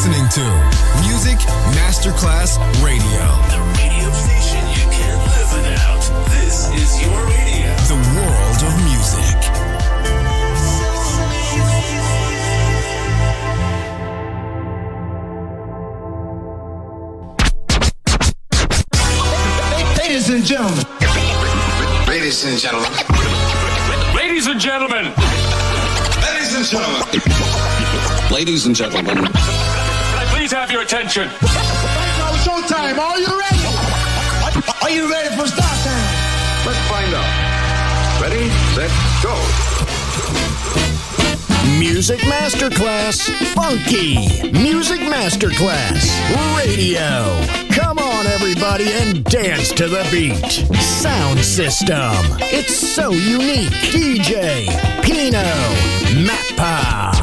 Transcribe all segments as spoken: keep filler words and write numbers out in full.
listening to Music Masterclass Radio. The radio station you can't live without. This is your radio. The world of music. Ladies and gentlemen. Ladies and gentlemen. Ladies and gentlemen. Ladies and gentlemen. Ladies and gentlemen. Can I please have your attention? It's showtime. Are you ready? Are you ready for start time? Let's find out. Ready, set, go. Music Masterclass Funky. Music Masterclass Radio. Come on, everybody, and dance to the beat. Sound system. It's so unique. D J Pino Mappa.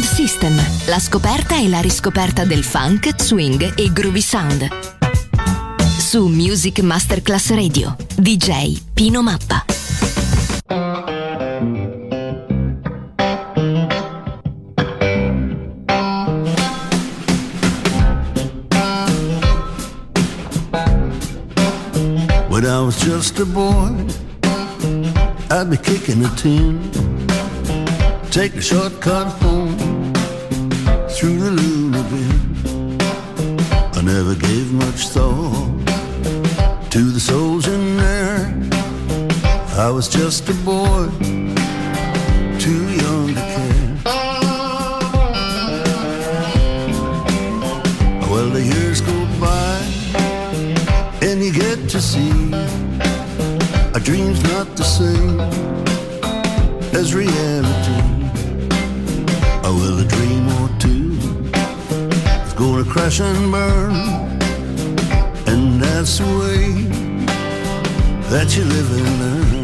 Sound System, la scoperta e la riscoperta del funk, swing e groovy sound. Su Music Masterclass Radio, D J Pino Mappa. When I was just a boy, I'd be kicking a tin, take a shortcut home through the Luna bin. I never gave much thought to the souls in there. I was just a boy, too young to care. Well, the years go by and you get to see our dreams not the same as reality. Oh, well, a dream or two is gonna crash and burn, and that's the way that you live and learn.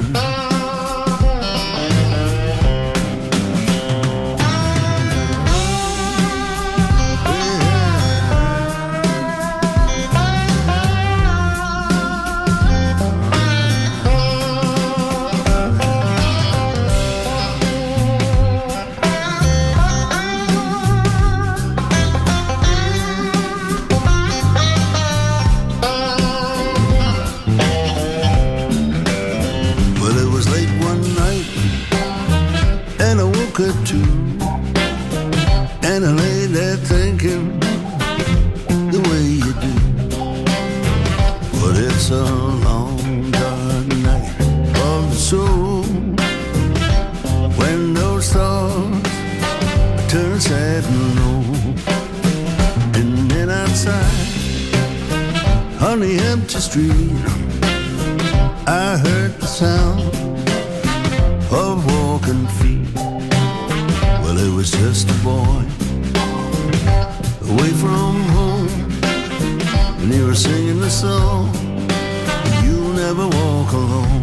Too. And I lay there thinking the way you do. But it's a long dark night of the soul, when those thoughts turn sad and low. And then outside on the empty street, I heard the sound of walking feet. Well, it was just a boy away from home, and he was singing the song, "You'll never walk alone."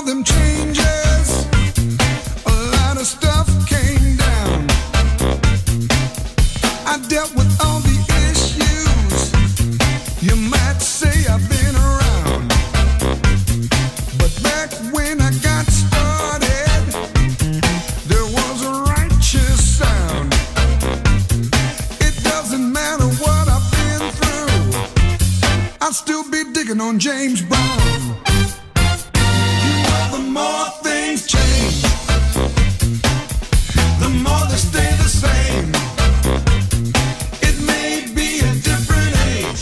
them changes, a lot of stuff came down. I dealt with all the issues. You might say I've been around, but back when I got started, there was a righteous sound. It doesn't matter what I've been through, I'll still be digging on James Brown. You know, the more things change, the more they stay the same. It may be a different age,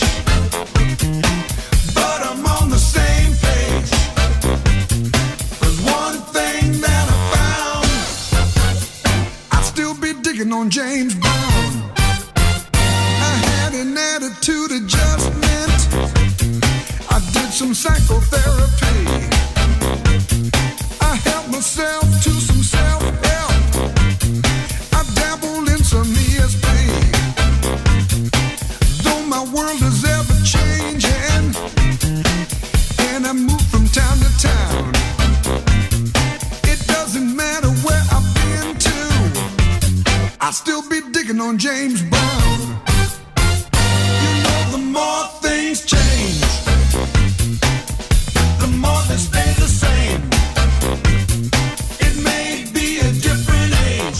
but I'm on the same page. There's one thing that I found, I'll still be digging on James Brown. I had an attitude adjustment, I did some psychotherapy, I helped myself to some self-help, I dabbled in some E S P. Though my world is ever changing, and I move from town to town, it doesn't matter where I've been to, I'll still be digging on James Brown. You know, the more things change, the more they stay the same. It may be a different age,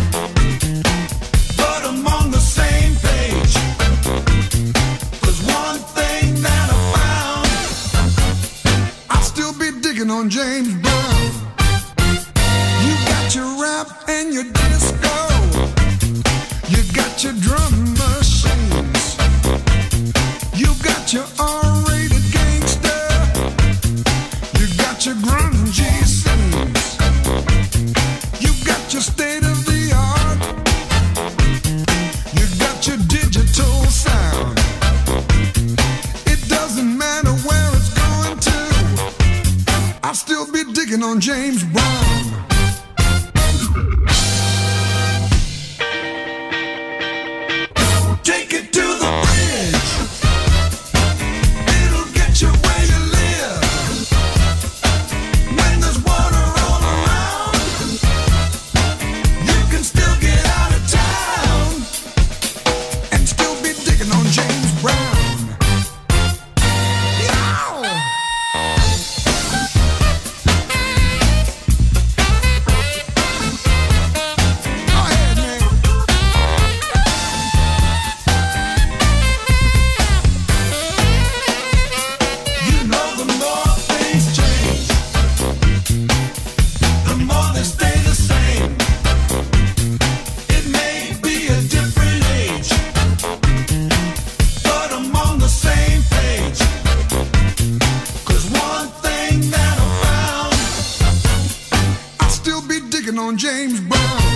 but I'm on the same page. There's one thing that I found, I'll still be digging on James Brown. You got your rap and your disco, you got your drum machines, you got your R-rated gangster, you got your grungy scenes, you got your state of the art, you got your digital sound. It doesn't matter where it's going to, I'll still be digging on James Brown. Take it to the bridge, it'll get you where you live. When there's water all around, you can still get out of town and still be digging on James Brown. Yow! Go ahead, man. You know, the more things change, the more they stay the same. It may be a different age, but I'm on the same page. 'Cause one thing that I found, I'll still be digging on James Brown.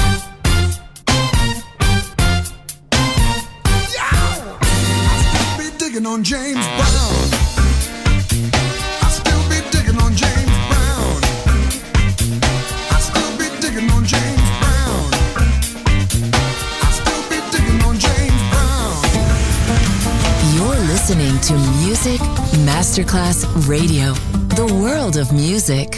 Yeah! I'll still be digging on James Brown. I'll still be digging on James Brown. I'll still be digging on James Brown. I'll still be digging on James Brown. You're listening to Music Masterclass Radio, the world of music.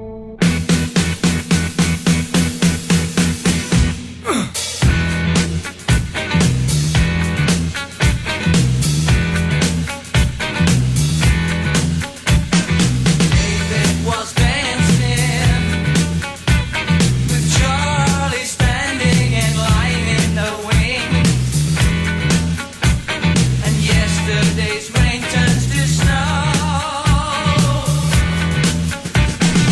Was dancing with Charlie standing and lying in the wings, and yesterday's rain turns to snow.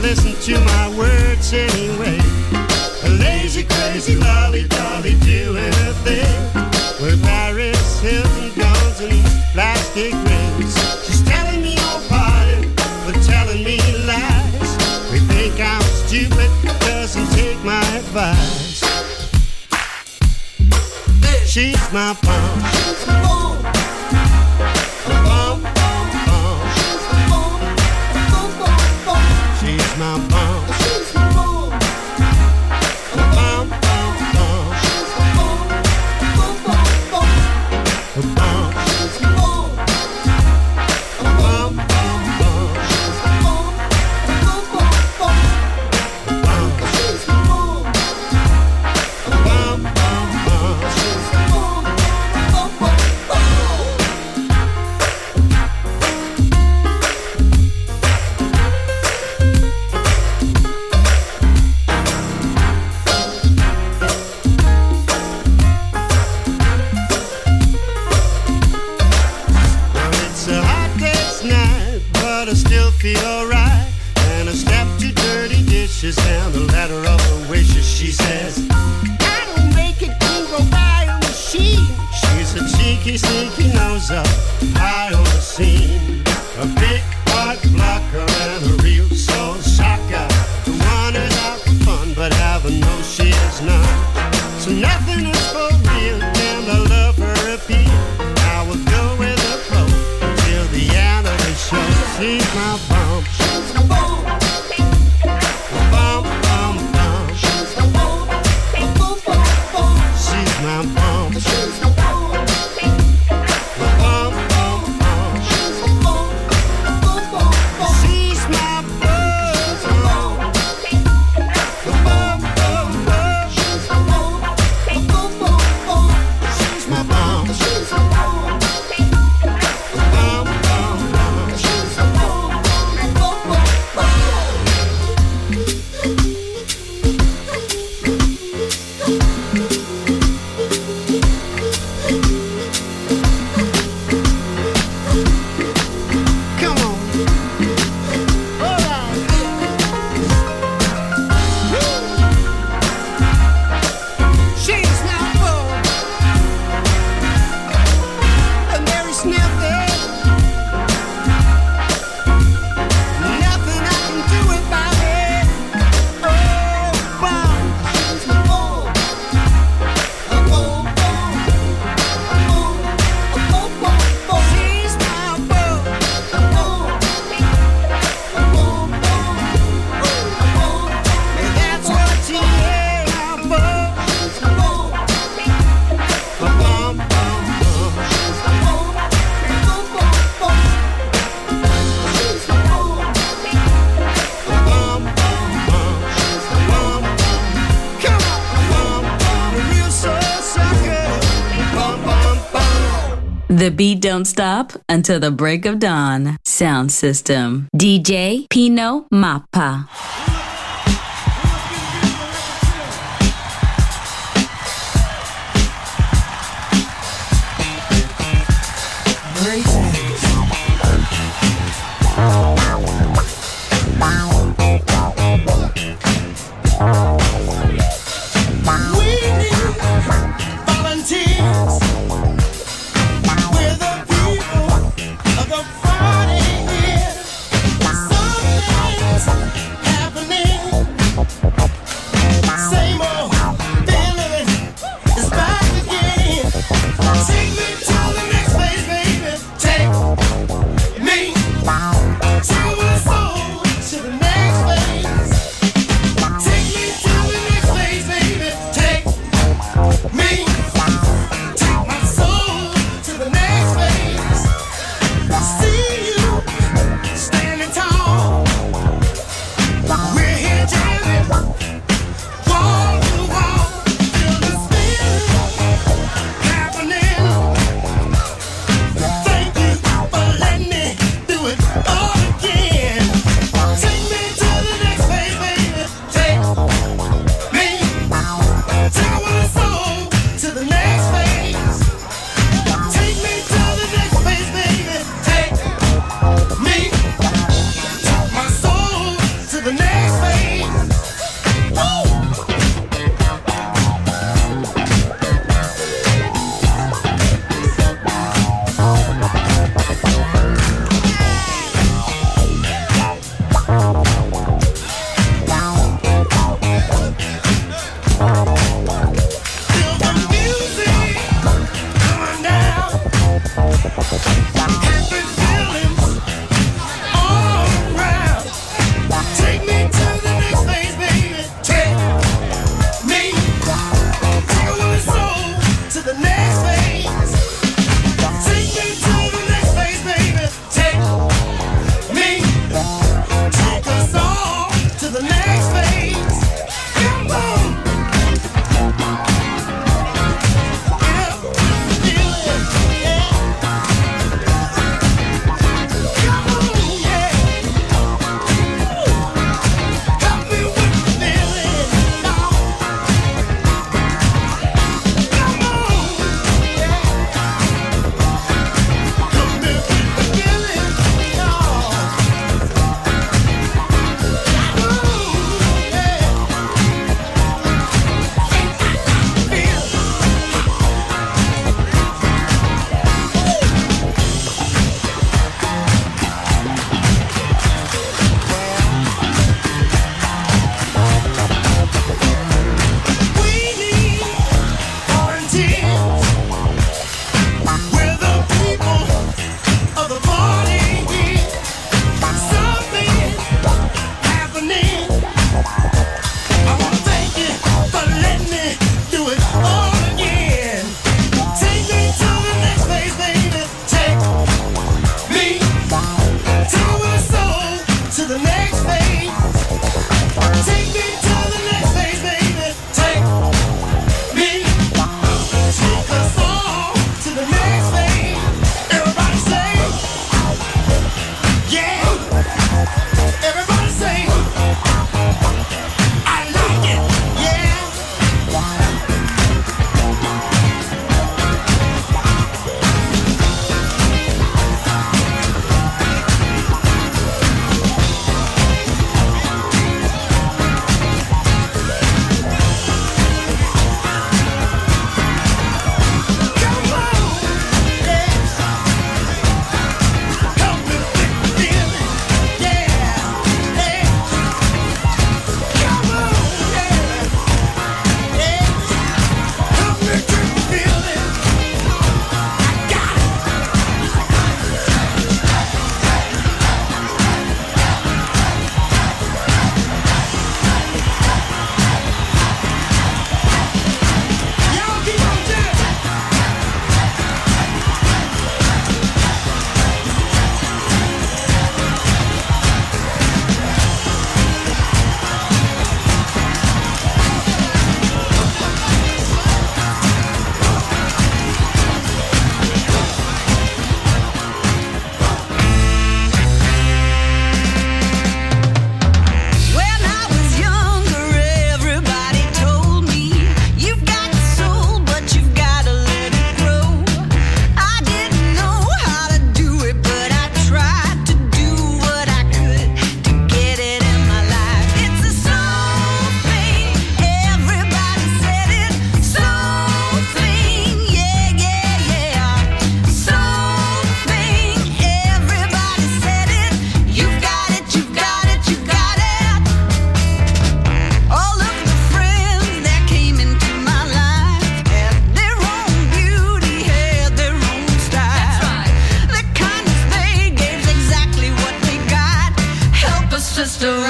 listen to my words anyway. A lazy, crazy, lolly-dolly doing her thing with Paris Hilton guns and plastic rings. She's telling me no pardon, but telling me lies. We think I'm stupid, doesn't take my advice. She's my bomb. She's my bomb. Bomb, bomb, bomb. She's my bomb. Bomb, bomb, bomb. She's my bomb. She's my bomb. Bomb, bomb, bomb. She's my bomb. Bomb, bomb, bomb. Bomb. She's my bomb. Bomb, bomb, bomb. She's my bomb. Bomb, bomb, bomb. Bomb. She's my bomb. Bomb, bomb, bomb. She's my bomb. Bomb, bomb, bomb. It's a hot day's night, but I still feel alright. And I step to dirty dishes and the letter of her wishes. She says, I don't make it, you go buy a machine. She's a cheeky, sneaky nose up, high on the scene. A big heart blocker and a real soul shocker. The one who's out for fun, but heaven knows she is none. So nothing is for real, and I love her appeal. I will go with her pro till the end of the show. She's my bomb. She's my bomb. Bomb, bomb, bomb. She's my bomb. Bomb, bomb, bomb. She's my bomb. She's my bomb. Bomb, bomb, bomb. She's my bomb. Bomb, bomb, bomb. She's my bomb. Bomb, bomb, bomb. She's my bomb. Bomb, bomb, bomb. She's my bomb. She's my bomb. Bomb, bomb, bomb. She's my bomb. Bomb, bomb, bomb. Come on. All right. She's my bomb. A Mary Sniffy. Nothing I can do about it. Oh, bomb. She's my bomb. A bomb, bomb. A bomb. A bomb, bomb, bomb. She's my bomb. A bomb. A bomb, bomb. A bomb. And that's what she is. My bomb. She's my bomb. A bomb, bomb, bomb. She's my bomb. Bomb, bomb, bomb. She's my bomb. A bomb, bomb, bomb. She's my bomb. Come on. Bomb, bomb. A real soul sucker. Bomb, bomb, bomb. The beat don't stop until the break of dawn. Sound system. D J Pino Mappa. We need volunteers. We're the people of the Friday here. Something's happening. Same old feeling is back again. Take me to the next place, baby. Take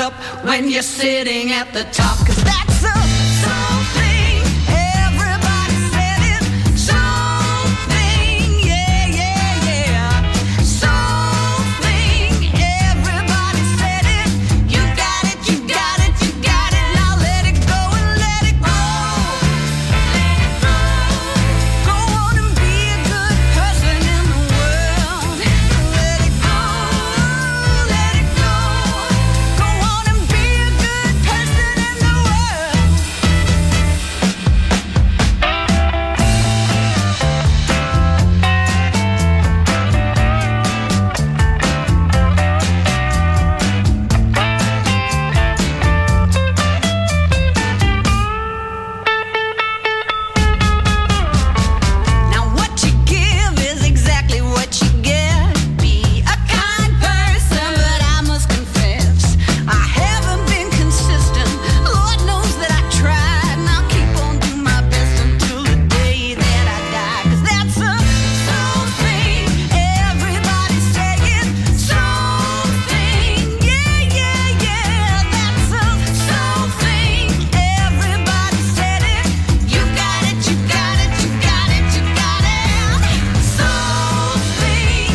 up when you're sitting at the top. 'Cause that's a something. Everybody said it. Something. Yeah, yeah, yeah. Something. Everybody said it. You got it, you got it, you got it. Now let it go and let it go. Let it go. Go on and be a good person in the world. Let it go. Let it go. Go on and be a good person in the world. Now what you give is exactly what you get. Be a kind person, but I must confess I haven't been consistent. Lord knows that I tried, and I'll keep on doing my best until the day that I die. 'Cause that's a something. Everybody say it. Something. Yeah, yeah, yeah. That's a something. Everybody said it. You got it, you got it, you got it, you got it. Something.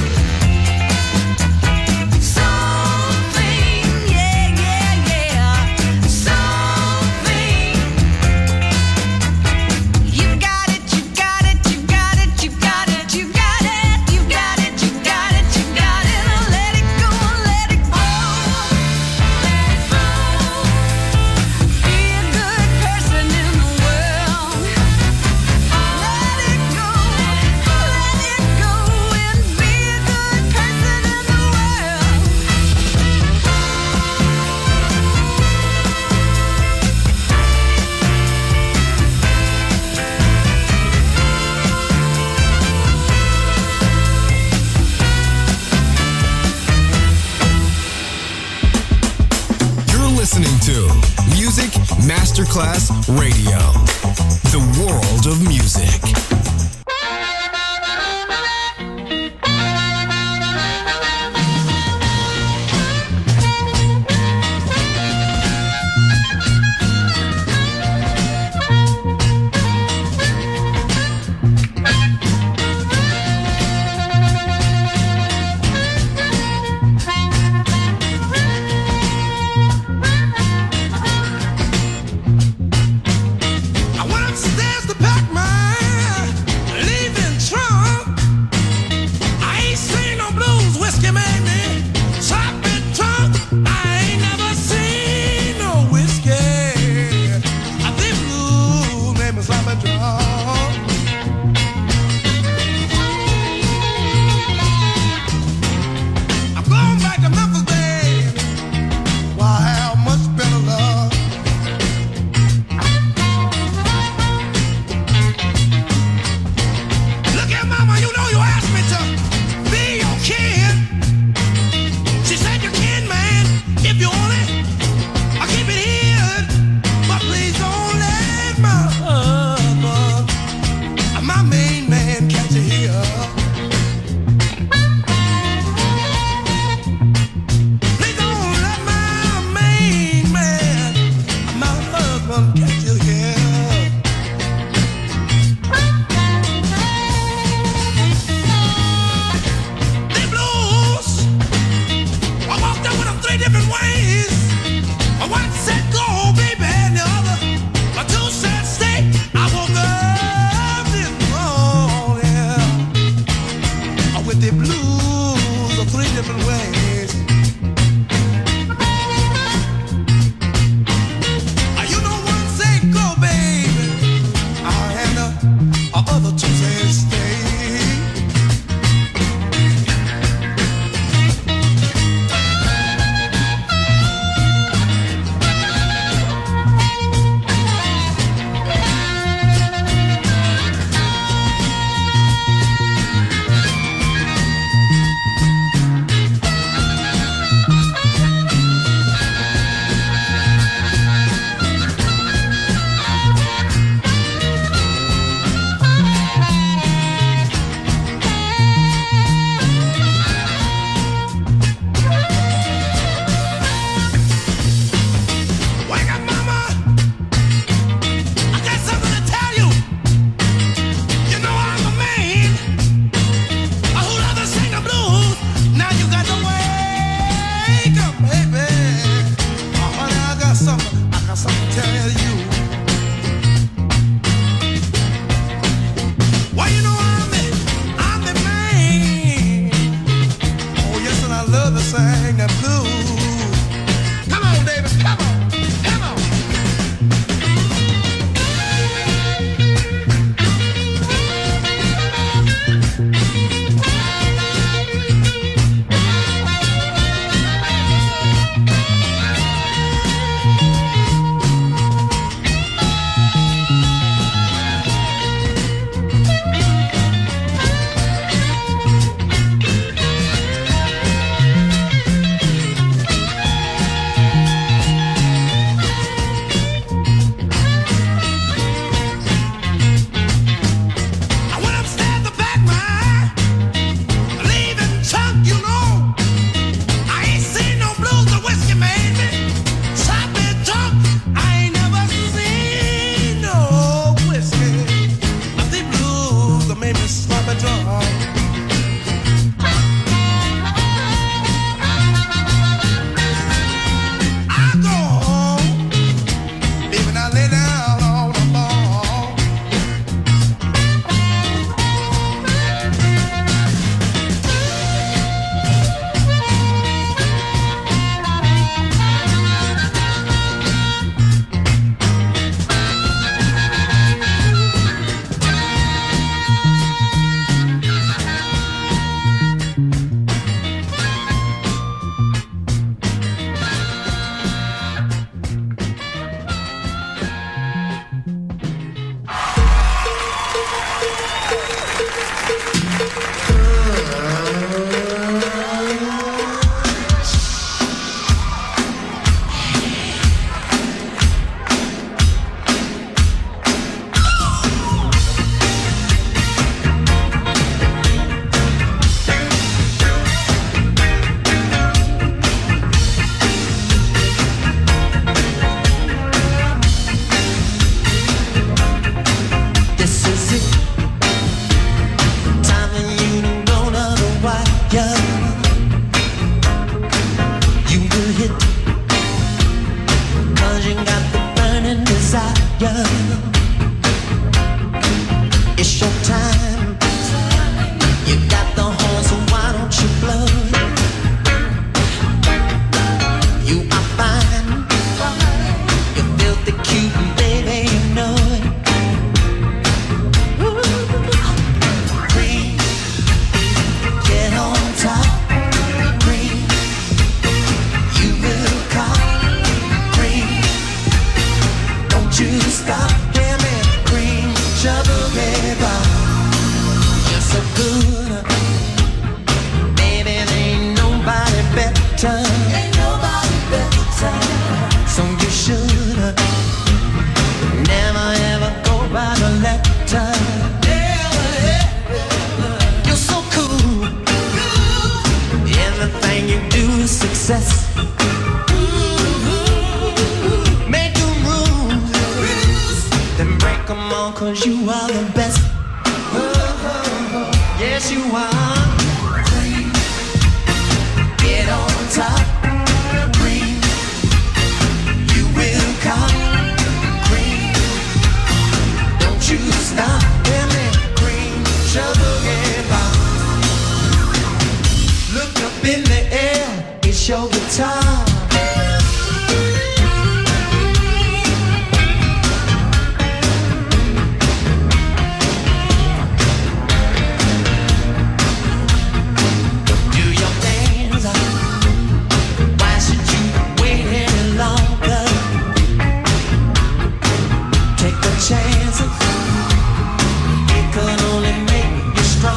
Something. Yeah, yeah, yeah. Something. You got it, you got it, you got it, you got it, you got it, you got it, you got it, you got it. Now let it go, let it go. Let it go. Be a good person in the world. Let it go, let it go, and be a good person in the world. You're listening to Music Masterclass Radio, the world of music. I went upstairs to pack my leaving trunk. I ain't seen no blues, whiskey made me sloppy drunk. I ain't never seen no whiskey. I think blues made me sloppy drunk. I'm going back to Memphis, baby. Why I have much better love. Look at mama, you know you asked me to be your kid. She said you can, man, if you want it. I keep it here, but please don't let my husband, my main man, catch you here. Please don't let my main man, my husband, catch you here. The blues, I walked up with them three different ways. One said go, baby, and the other, a two said stay. I woke up this morning with the blues of three different ways. Uh, You know one say go, baby, uh, and the uh, other two say stay. sang that blues. Come on, David, come on, come on.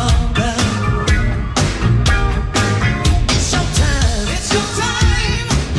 It's your time.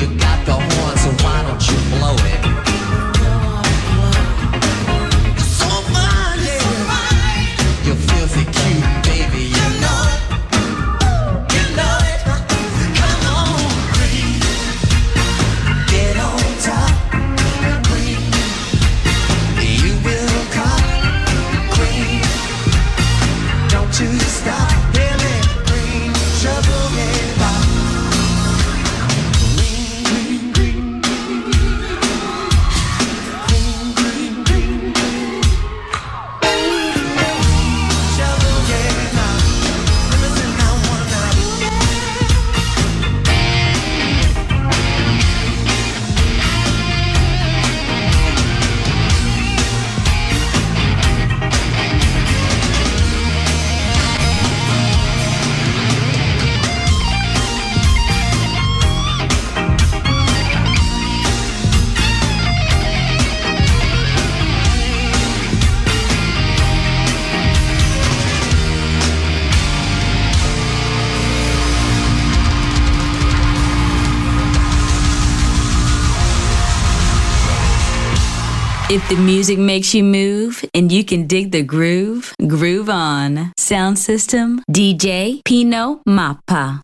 If the music makes you move and you can dig the groove, groove on. Sound system, D J Pino Mappa.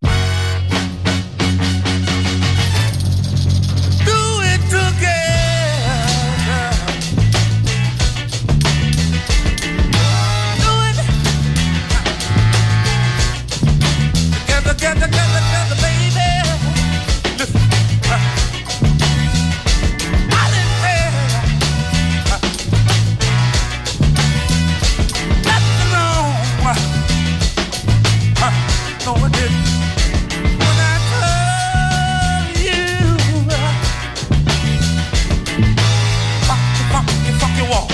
Together, together, together, baby. Listen, uh, I didn't care. Uh, nothing wrong. Uh, no, I didn't. When I told you, uh, funky, funky, funky walk.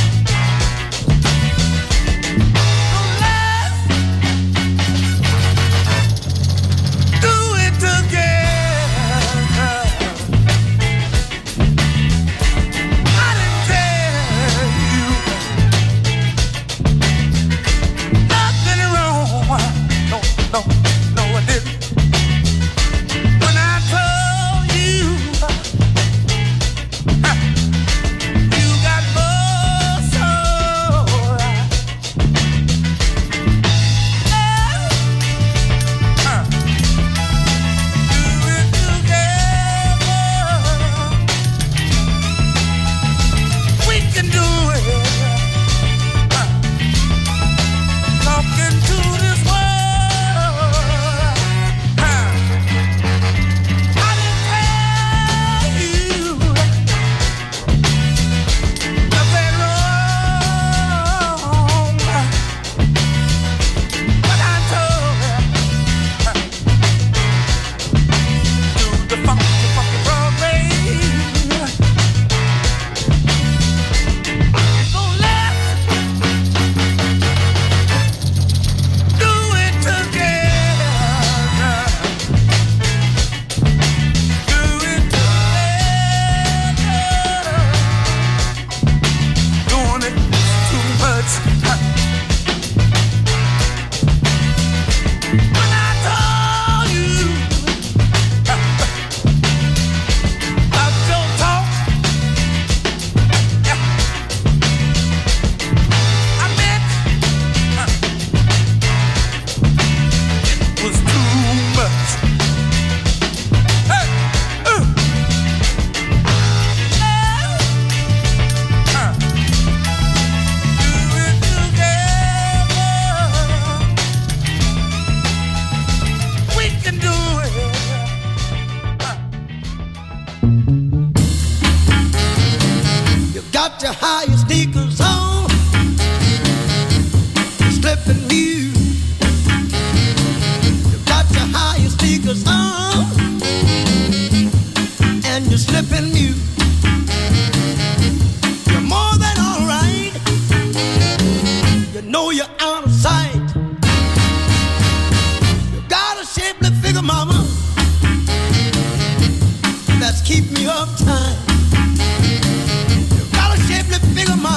Your higher sneakers on, slipping new. You got your higher sneakers on, and you're slipping new. You're more than all right. You know you're out of sight. You got a shapely figure, mama, that's keep me uptight. Figure,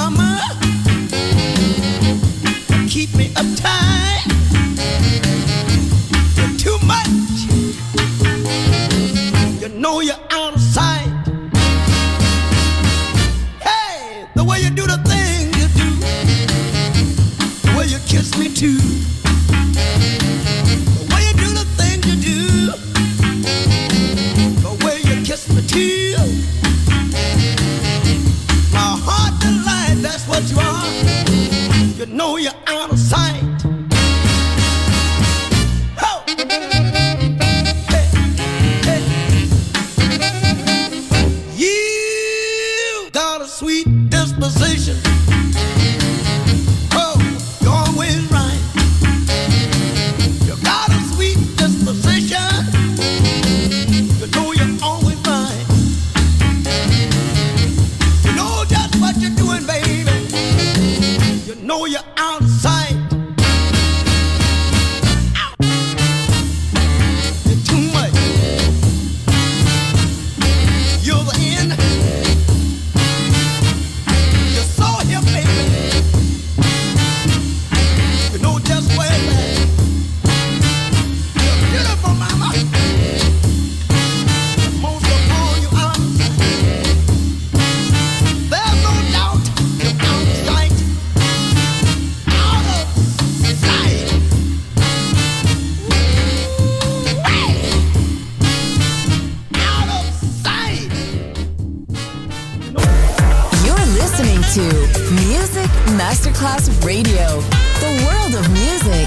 Masterclass Radio, the world of music.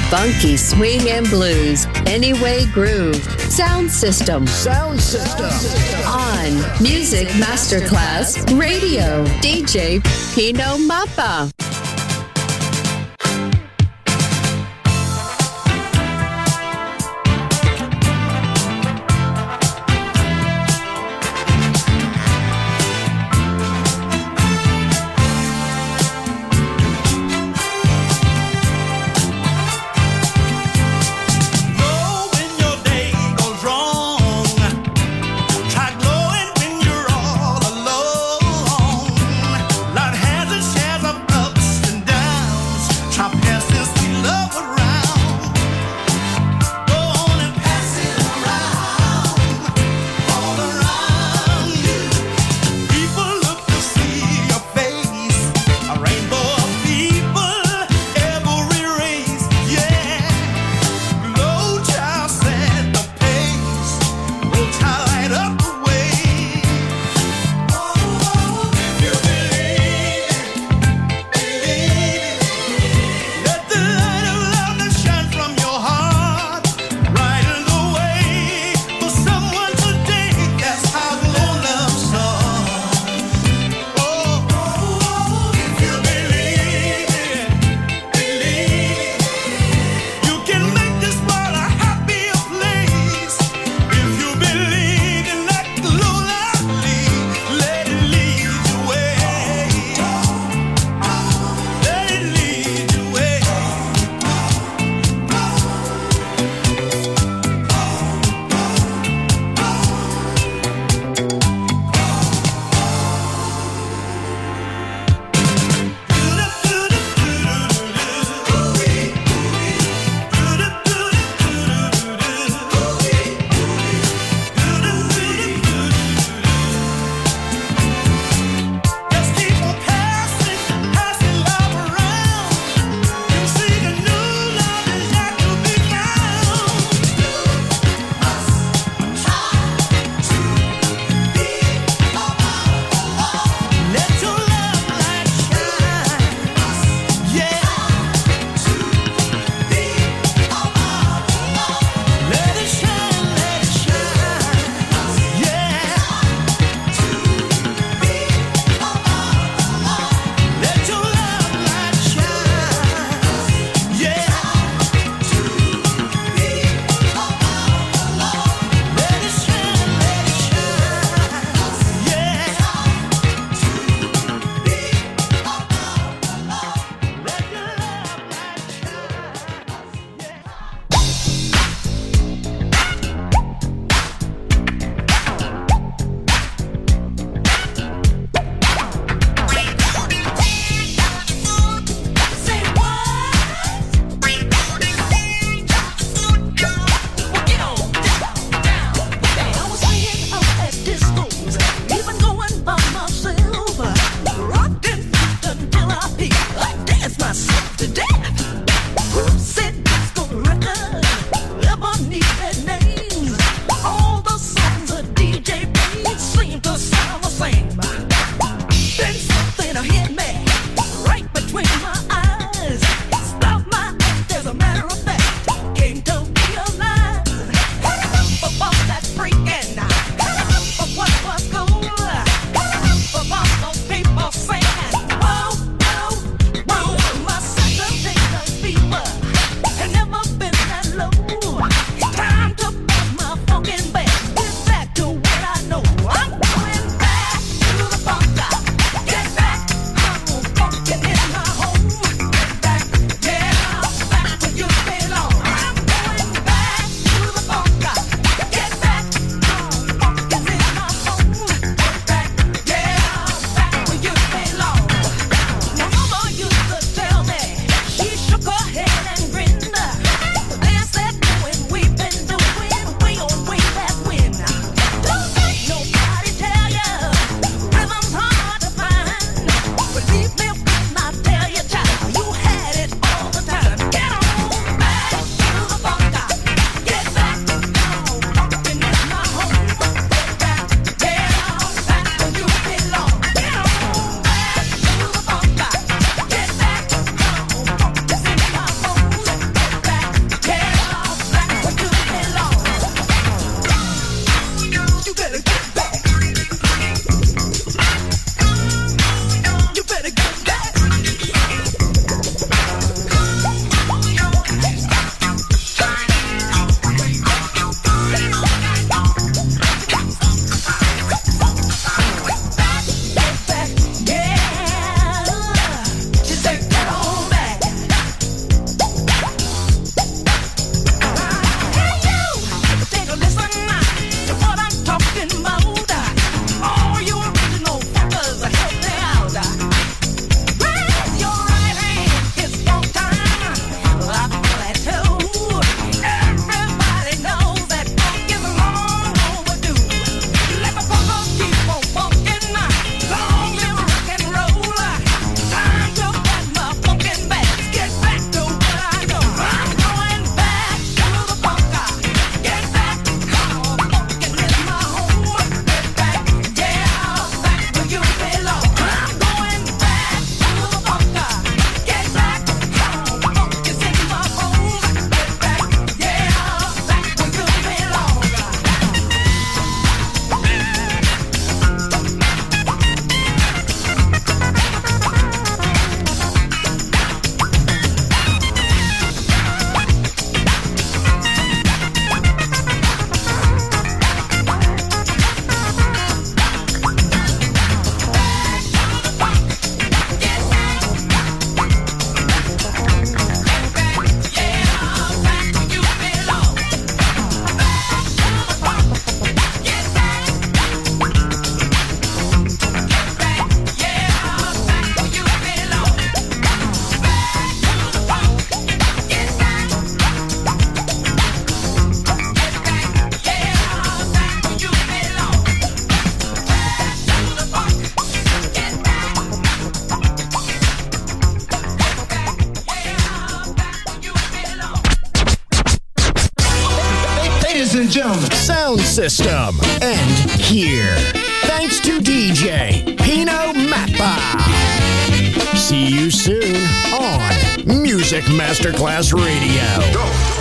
Funky swing and blues. Anyway Groove. Sound System. Sound System. On Music Masterclass Radio. D J Pino Mappa. Lord has its shares of ups and gentlemen. Sound system. And here. Thanks to D J Pino Mappa. See you soon on Music Masterclass Radio. Go.